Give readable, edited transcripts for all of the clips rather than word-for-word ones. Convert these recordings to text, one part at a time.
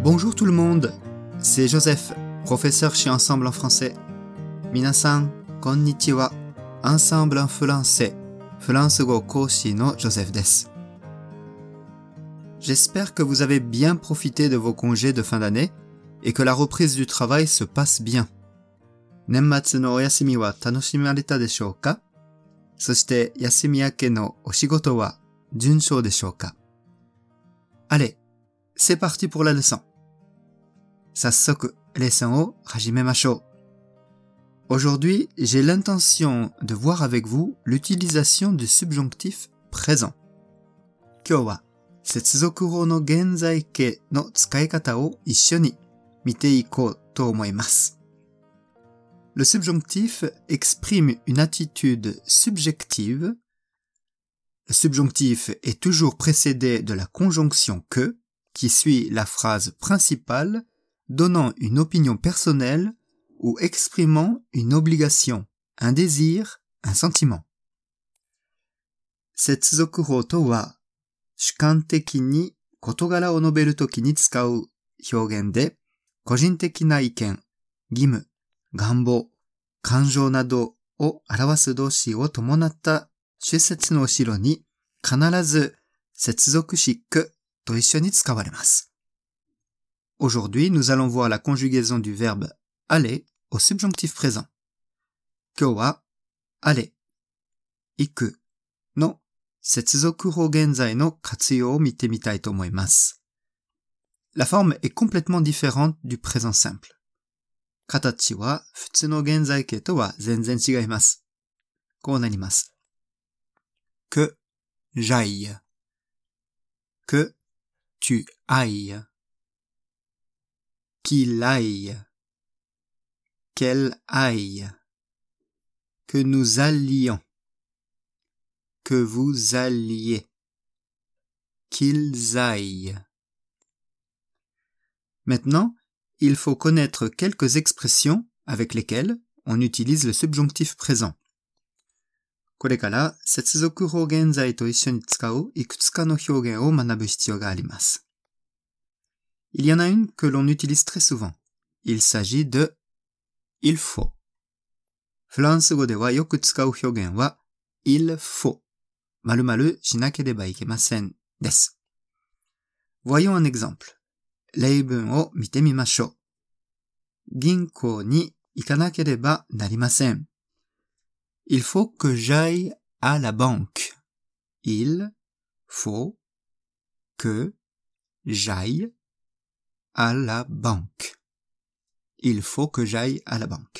Bonjour tout le monde, c'est Joseph, professeur chez Ensemble en français. Minasan, konnichiwa, Ensemble en français, フランス語講師の Joseph です。J'espère que vous avez bien profité de vos congés de fin d'année et que la reprise du travail se passe bien. 年末のお休みは楽しまれたでしょうか？そして休み明けのお仕事は順調でしょうか？ Allez, c'est parti pour la leçon. 早速、レッスンを始めましょう。Aujourd'hui, j'ai l'intention de voir avec vous l'utilisation du subjonctif présent. 今日は接続法の現在形の使い方を一緒に見ていこうと思います。Le subjonctif exprime une attitude subjective. Le subjonctif est toujours précédé de la conjonction que, qui suit la phrase principale, donnant une opinion personnelle ou exprimant une obligation, un désir, un sentiment. 接続法とは、主観的に事柄を述べるときに使う表現で、個人的な意見、義務、願望、感情などを表す動詞を伴った主節の後ろに必ず接続詞queと一緒に使われます。Aujourd'hui, nous allons voir la conjugaison du verbe aller au subjonctif présent. 今日はaller、行くの接続法現在の活用を見てみたいと思います。La forme est complètement différente du présent simple. 形は普通の現在形とは全然違います。こうなります。que j'aille, que tu ailles, qu'il aille, qu'elle aille, que nous allions, que vous alliez, qu'ils aillent. Maintenant, il faut connaître quelques expressions avec lesquelles on utilise le subjonctif présent. これから接続法現在と一緒に使ういくつかの表現を学ぶ必要があります。Il y en a une que l'on utilise très souvent. Il s'agit de il faut. フランス語ではよく使う表現は il faut. 〇〇しなければいけませんです。Voyons un exemple. 例文を見てみましょう。銀行に行かなければなりません。Il faut que j'aille à la banque. Il faut que j'aille à la banque. Il faut que j'aille à la banque.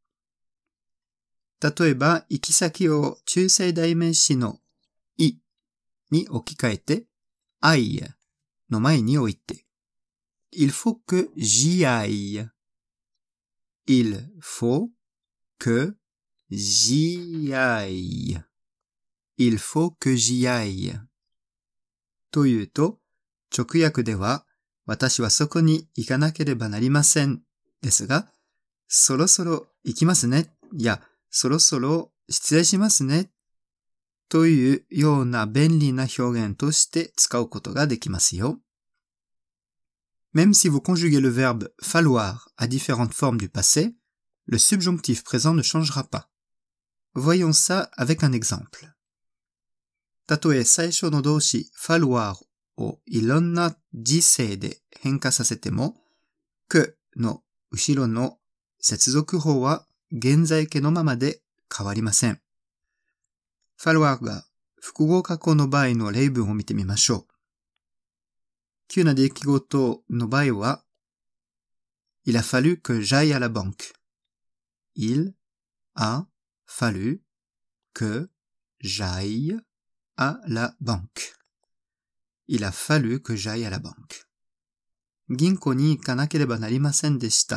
例えば、行き先を中性代名詞のいに置き換えて、ailleの前に置いて、Il faut que j'y aille. Il faut que j'y aille. Il faut que j'y aille. というと、直訳では、私はそこに行かなければなりません。ですが、そろそろ行きますね。や、そろそろ失礼しますね。というような便利な表現として使うことができますよ。Même si vous conjuguez le verbe falloir à différentes formes du passé, le subjonctif présent ne changera pas. Voyons ça avec un exemple. たとえ最初の動詞 falloir をいろんな時制で変化させても、que の後ろの接続法は現在形のままで変わりません。falloir が複合過去の場合の例文を見てみましょう。急な出来事の場合は、Il a fallu que j'aille à la banque. Il a fallu que j'aille à la banque. Il a fallu que j'aille à la banque. 銀行に行かなければなりませんでした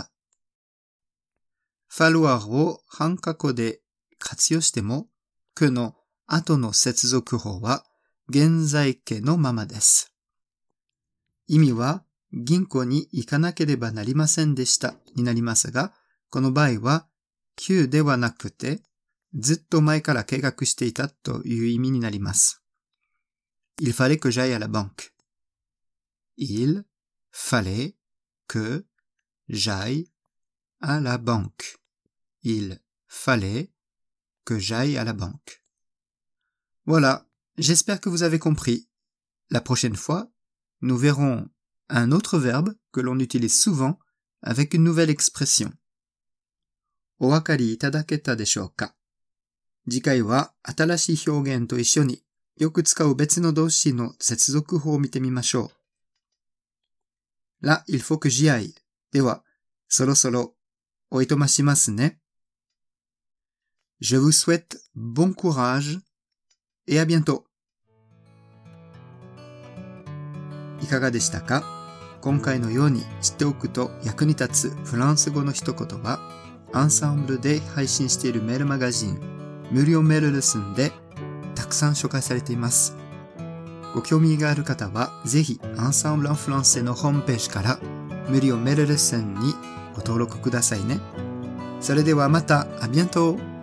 。falloir を半過去で活用しても、que の後の接続法は現在形のままです。意味は、銀行に行かなければなりませんでしたになりますが、この場合は、急ではなくて、ずっと前から計画していたという意味になります。Il fallait que j'aille à la banque. Il fallait que j'aille à la banque. Il fallait que j'aille à la banque. Voilà, j'espère que vous avez compris. La prochaine fois, nous verrons un autre verbe que l'on utilise souvent avec une nouvelle expression. お分かりいただけたでしょうか？次回は新しい表現と一緒によく使う別の動詞の接続法を見てみましょう。Là, il faut que j'y aille. では、そろそろおいとましますね。Je vous souhaite bon courage et à bientôt. いかがでしたか？今回のように知っておくと役に立つフランス語の一言は、アンサンブルで配信しているメールマガジン、無料メールレッスンでたくさん紹介されています。ご興味がある方は、ぜひアンサンブル・アン・フランセのホームページから無料メールレッスンにご登録くださいね。それではまた、à bientôt!